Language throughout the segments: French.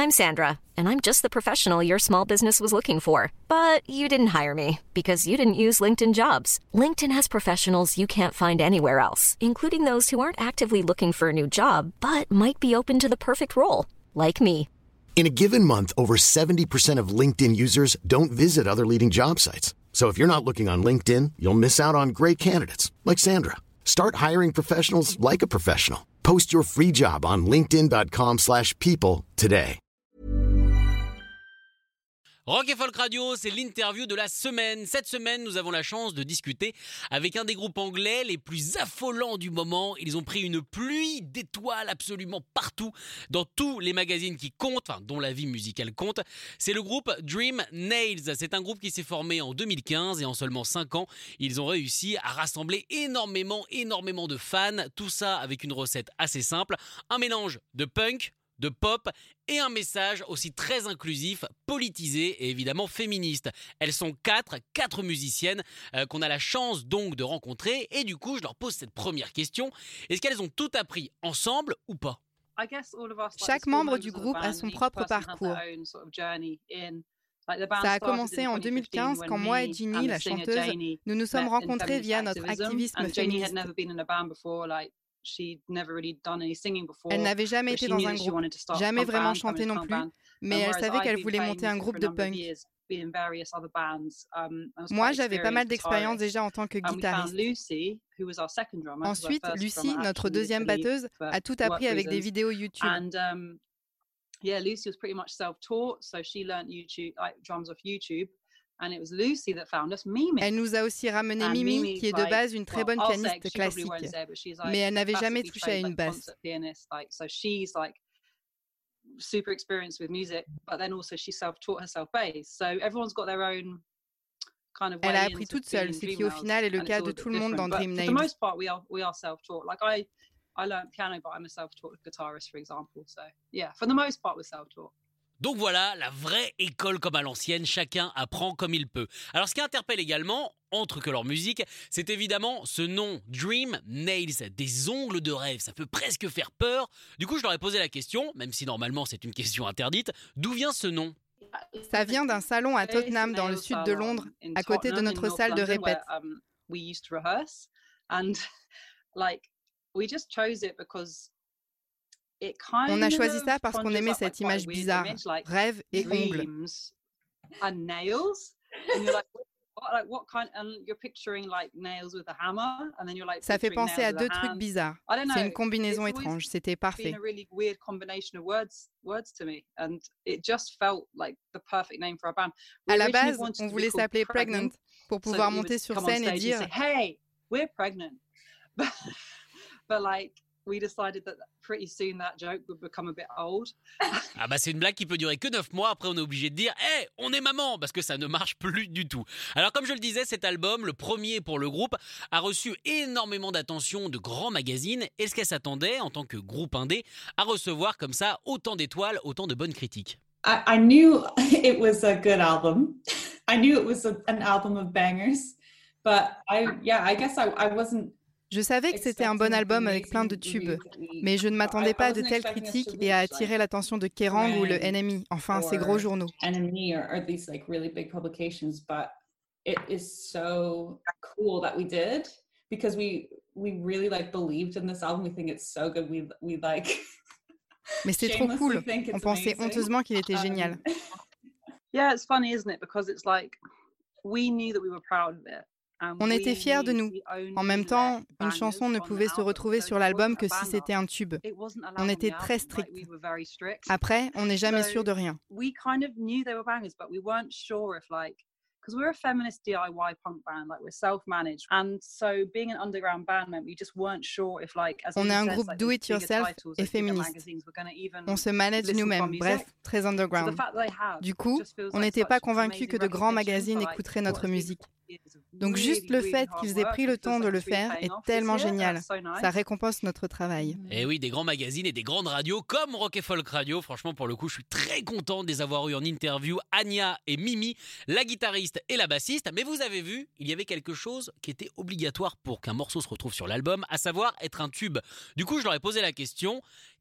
I'm Sandra, and I'm just the professional your small business was looking for. But you didn't hire me because you didn't use LinkedIn Jobs. LinkedIn has professionals you can't find anywhere else, including those who aren't actively looking for a new job, but might be open to the perfect role, like me. In a given month, over 70% of LinkedIn users don't visit other leading job sites. So if you're not looking on LinkedIn, you'll miss out on great candidates like Sandra. Start hiring professionals like a professional. Post your free job on linkedin.com/people today. Rock et Folk Radio, c'est l'interview de la semaine. Cette semaine, nous avons la chance de discuter avec un des groupes anglais les plus affolants du moment. Ils ont pris une pluie d'étoiles absolument partout, dans tous les magazines qui comptent, enfin, dont la vie musicale compte. C'est le groupe Dream Nails. C'est un groupe qui s'est formé en 2015 et en seulement 5 ans, ils ont réussi à rassembler énormément de fans. Tout ça avec une recette assez simple, un mélange de punk, de pop et un message aussi très inclusif, politisé et évidemment féministe. Elles sont quatre musiciennes qu'on a la chance donc de rencontrer et du coup je leur pose cette première question. Est-ce qu'elles ont tout appris ensemble ou pas ? Chaque membre du groupe a son propre parcours. Ça a commencé en 2015 quand moi et Ginny, la chanteuse, nous nous sommes rencontrés via notre activisme féministe. Elle n'avait jamais été dans un groupe, jamais vraiment chanté non plus, mais elle savait qu'elle voulait monter un groupe de punk. Moi, j'avais pas mal d'expérience déjà en tant que guitariste. Ensuite, Lucy, notre deuxième batteuse, a tout appris avec des vidéos YouTube. Lucy was pretty much self-taught, so she learned YouTube, like drums off YouTube. And it was Lucy that found us Mimi. Elle nous a aussi ramené Mimi, qui est de base une très bonne pianiste classique, mais elle n'avait jamais touché à une basse. So she's like super experienced with music, but then also she self-taught herself bass. So everyone's got their own kind of way. Elle a appris toute seule, ce qui au final est le cas de tout le monde dans Dream Nails. For the most part, we are self-taught. Like I learned piano, but I'm a self-taught guitarist, for example. So yeah, for the most part, we're self-taught. Donc voilà, la vraie école comme à l'ancienne, chacun apprend comme il peut. Alors ce qui interpelle également, autre que leur musique, c'est évidemment ce nom, Dream Nails, des ongles de rêve, ça peut presque faire peur. Du coup, je leur ai posé la question, même si normalement c'est une question interdite, d'où vient ce nom ? Ça vient d'un salon à Tottenham, dans le sud de Londres, à côté de notre salle de répète. On a choisi ça parce qu'on aimait cette image bizarre, rêve et ongles. Ça fait penser à deux trucs bizarres. C'est une combinaison étrange, c'était parfait. À la base, on voulait s'appeler Pregnant pour pouvoir monter sur scène et dire « Hey, we're pregnant ». We decided that pretty soon that joke would become a bit old. Ah bah c'est une blague qui peut durer que 9 mois, après on est obligé de dire « Hey, on est maman !» parce que ça ne marche plus du tout. Alors comme je le disais, cet album, le premier pour le groupe, a reçu énormément d'attention de grands magazines. Est-ce qu'elle s'attendait, en tant que groupe indé, à recevoir comme ça autant d'étoiles, autant de bonnes critiques ? I knew it was a good album. I knew it was an album of bangers. But I guess I wasn't... Je savais que c'était un bon album avec plein de tubes, mais je ne m'attendais pas à de telles critiques et à attirer l'attention de Kerrang ou le NME, enfin ces gros journaux. NME or these like really big publications, but it is so cool that we did because we really like believed in this album. We think it's so good. We like. Mais c'est trop cool. On pensait honteusement qu'il était génial. Yeah, it's funny, isn't it? Because it's like we knew that we were proud of it. On était fiers de nous. En même temps, une chanson ne pouvait se retrouver sur l'album que si c'était un tube. On était très stricts. Après, on n'est jamais sûr de rien. Because we're a feminist DIY punk band, like we're self-managed, and so being an underground band meant we just weren't sure if like. On est un groupe do-it-yourself et féministe. On se manage nous-mêmes, bref, très underground. Du coup, on n'était pas convaincus que de grands magazines écouteraient notre musique. Donc juste le fait qu'ils aient pris le temps de le faire est tellement génial. Ça récompense notre travail. Et oui, des grands magazines et des grandes radios comme Rock et Folk Radio. Franchement, pour le coup, je suis très content de les avoir eu en interview. Anya et Mimi, la guitariste et la bassiste. Mais vous avez vu, il y avait quelque chose qui était obligatoire pour qu'un morceau se retrouve sur l'album, à savoir être un tube. Du coup, je leur ai posé la question,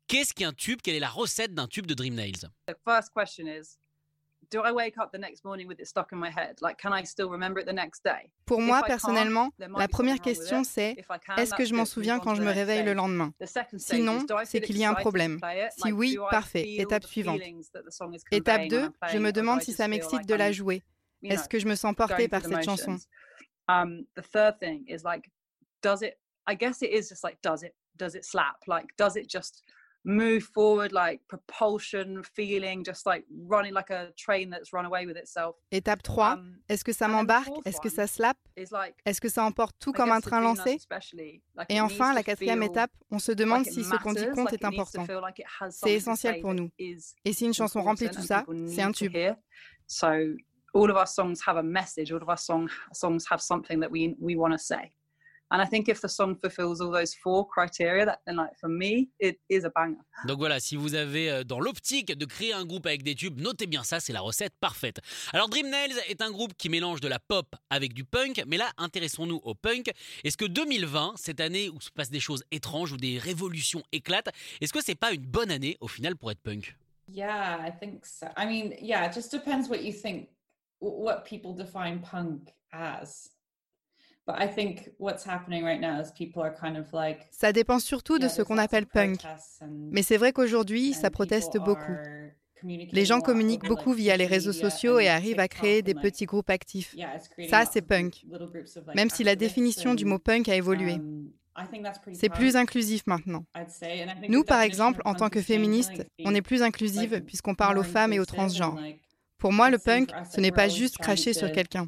Qu'est-ce qu'un tube? Quelle est la recette d'un tube de Dream Nails? The first question is, do I wake up the next morning with it stuck in my head? Like, can I still remember it the next day? Pour moi, personnellement, la première question, c'est est-ce que je m'en souviens quand je me réveille le lendemain? Sinon, c'est qu'il y a un problème. Si oui, parfait. Étape suivante. Étape 2, je me demande si ça m'excite de la jouer. Est-ce que je me sens portée par cette chanson? The third thing is like, I guess it is just like, does it slap? Like, does it just move forward, like propulsion, feeling, just like running like a train that's run away with itself. Étape 3, est-ce que ça m'embarque? Est-ce que ça slappe? Est-ce que ça emporte tout comme un train lancé? Et enfin, la quatrième étape, on se demande si ce qu'on dit compte est important. C'est essentiel pour nous. Et si une chanson remplit tout ça, c'est un tube. So all of our songs have a message, all of our songs have something that we want to say. And I think if the song fulfills all those 4 criteria, then like for me, it is a banger. Donc voilà, si vous avez dans l'optique de créer un groupe avec des tubes, notez bien ça, c'est la recette parfaite. Alors Dream Nails est un groupe qui mélange de la pop avec du punk, mais là, intéressons-nous au punk. Est-ce que 2020, cette année où se passent des choses étranges, où des révolutions éclatent, est-ce que c'est pas une bonne année au final pour être punk? Yeah, I think so. I mean, yeah, it just depends what you think, what people define punk as. But I think what's happening right now is people are kind of like. Ça dépend surtout de ce qu'on appelle punk. Mais c'est vrai qu'aujourd'hui, ça proteste beaucoup. Les gens communiquent beaucoup via les réseaux sociaux et arrivent à créer des petits groupes actifs. Ça, c'est punk. Même si la définition du mot punk a évolué. C'est plus inclusif maintenant. Nous, par exemple, en tant que féministes, on est plus inclusive puisqu'on parle aux femmes et aux transgenres. Pour moi, le punk, ce n'est pas juste cracher sur quelqu'un.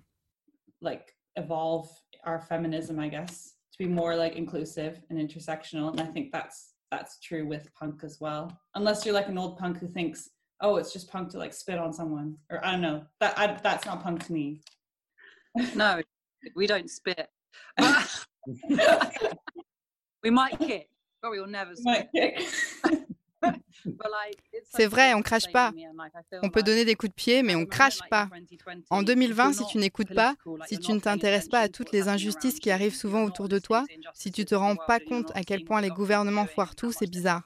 Evolve our feminism, I guess, to be more like inclusive and intersectional, and I think that's true with punk as well. Unless you're like an old punk who thinks, oh, it's just punk to like spit on someone, or I don't know. That's not punk to me. No, we don't spit. We might kick, but we will never spit. C'est vrai, on crache pas. On peut donner des coups de pied, mais on crache pas. En 2020, si tu n'écoutes pas, si tu ne t'intéresses pas à toutes les injustices qui arrivent souvent autour de toi, si tu te rends pas compte à quel point les gouvernements foirent tout, c'est bizarre.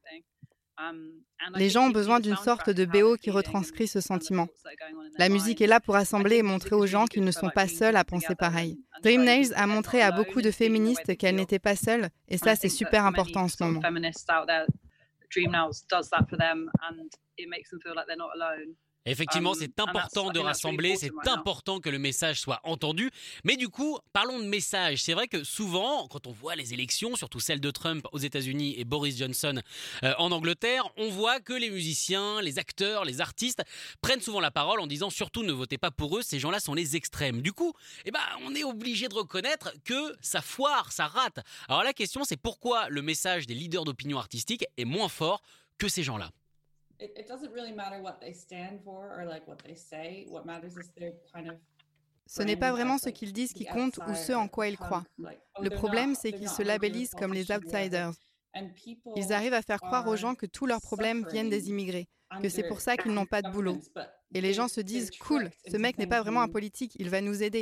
Les gens ont besoin d'une sorte de BO qui retranscrit ce sentiment. La musique est là pour rassembler et montrer aux gens qu'ils ne sont pas seuls à penser pareil. Dream Nails a montré à beaucoup de féministes qu'elles n'étaient pas seules, et ça, c'est super important en ce moment. Dream Nails does that for them and it makes them feel like they're not alone. Effectivement, c'est important de rassembler, c'est important que le message soit entendu. Mais du coup, parlons de message. C'est vrai que souvent, quand on voit les élections, surtout celles de Trump aux États-Unis et Boris Johnson en Angleterre, on voit que les musiciens, les acteurs, les artistes prennent souvent la parole en disant surtout ne votez pas pour eux, ces gens-là sont les extrêmes. Du coup, on est obligé de reconnaître que ça foire, ça rate. Alors la question, c'est pourquoi le message des leaders d'opinion artistique est moins fort que ces gens-là. It doesn't really matter what they stand for or like what they say. What matters is their kind of. Ce n'est pas vraiment ce qu'ils disent qui compte ou ce en quoi ils croient. Le problème, c'est qu'ils se labellisent comme les outsiders. Ils arrivent à faire croire aux gens que tous leurs problèmes viennent des immigrés, que c'est pour ça qu'ils n'ont pas de boulot. Et les gens se disent « Cool, ce mec n'est pas vraiment un politique, il va nous aider. »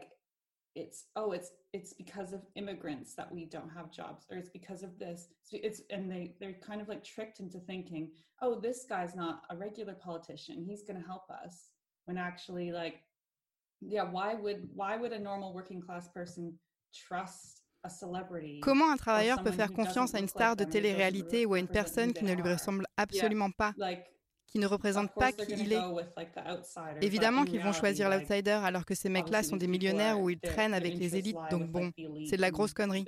It's because of immigrants that we don't have jobs, or it's because of this. And they're kind of like tricked into thinking, oh, this guy's not a regular politician, he's going to help us. When actually, like, yeah, why would a normal working class person trust a celebrity? Comment un travailleur peut faire confiance à une star de télé-réalité ou à une personne qui ne lui ressemble absolument pas, qui ne représente pas qui il est? Évidemment qu'ils vont choisir l'outsider alors que ces mecs-là sont des millionnaires ou ils traînent avec les élites, donc bon, c'est de la grosse connerie.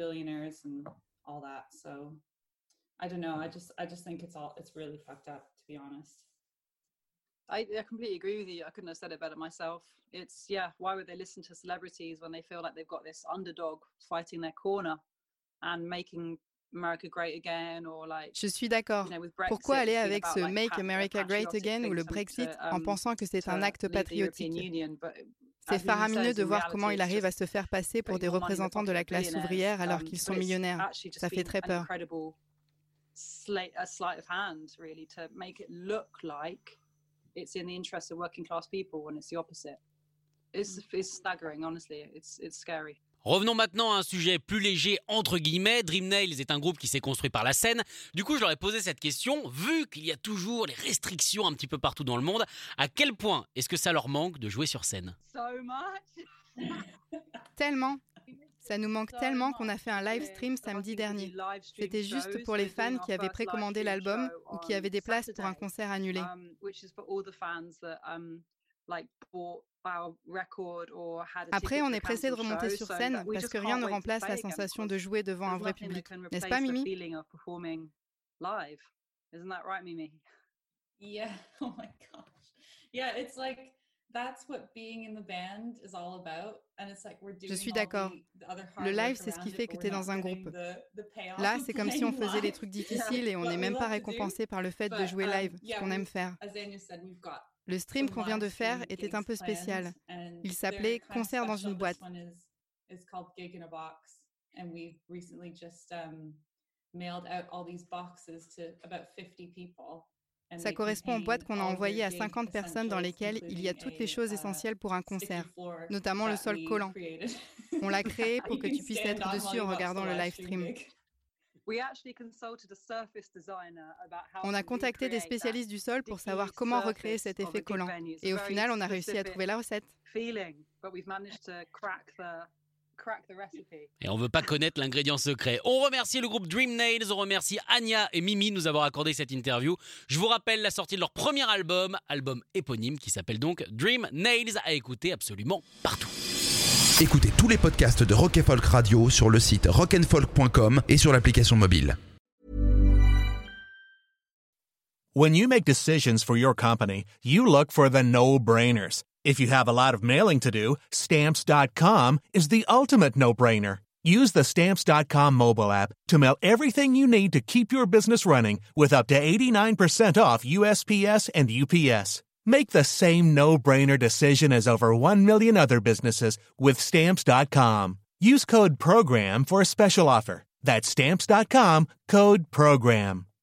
I don't know, I just think it's really fucked up, to be honest. I completely agree with you. I couldn't have said it better myself. It's, why would they listen to celebrities when they feel like they've got this underdog fighting their corner and making America Great Again, or like, je suis d'accord. Pourquoi aller avec ce Make America Great Again ou le Brexit en pensant que c'est un acte patriotique? C'est faramineux de voir comment il arrive à se faire passer pour des représentants de la classe ouvrière alors qu'ils sont millionnaires. Ça fait très peur. A sleight of hand, really, to make it look like it's in the interest of working class people when it's the opposite. It's staggering, honestly. It's scary. Revenons maintenant à un sujet plus léger entre guillemets. Dream Nails est un groupe qui s'est construit par la scène. Du coup, je leur ai posé cette question, vu qu'il y a toujours les restrictions un petit peu partout dans le monde, à quel point est-ce que ça leur manque de jouer sur scène ? Tellement. Ça nous manque tellement qu'on a fait un live stream samedi dernier. C'était juste pour les fans qui avaient précommandé l'album ou qui avaient des places pour un concert annulé. Après, on est pressé de remonter sur scène parce que rien ne remplace la sensation de jouer devant un vrai public. N'est-ce pas, Mimi? Yeah, oh my gosh. Yeah, it's like that's what being in the band is all about. And it's like we're doing. Je suis d'accord. Le live, c'est ce qui fait que tu es dans un groupe. Là, c'est comme si on faisait les trucs difficiles et on n'est même pas récompensé par le fait de jouer live, ce qu'on aime faire. Le stream qu'on vient de faire était un peu spécial. Il s'appelait « Concert dans une boîte ». Ça correspond aux boîtes qu'on a envoyées à 50 personnes dans lesquelles il y a toutes les choses essentielles pour un concert, notamment le sol collant. On l'a créé pour que tu puisses être dessus en regardant le live stream. On a contacté des spécialistes du sol pour savoir comment recréer cet effet collant. Et au final, on a réussi à trouver la recette. Et on veut pas connaître l'ingrédient secret. On remercie le groupe Dream Nails, on remercie Anya et Mimi de nous avoir accordé cette interview. Je vous rappelle la sortie de leur premier album éponyme qui s'appelle donc Dream Nails, à écouter absolument partout. Écoutez tous les podcasts de Rock & Folk Radio sur le site rockandfolk.com et sur l'application mobile. When you make decisions for your company, you look for the no-brainers. If you have a lot of mailing to do, Stamps.com is the ultimate no-brainer. Use the Stamps.com mobile app to mail everything you need to keep your business running with up to 89% off USPS and UPS. Make the same no-brainer decision as over 1 million other businesses with Stamps.com. Use code PROGRAM for a special offer. That's Stamps.com, code PROGRAM.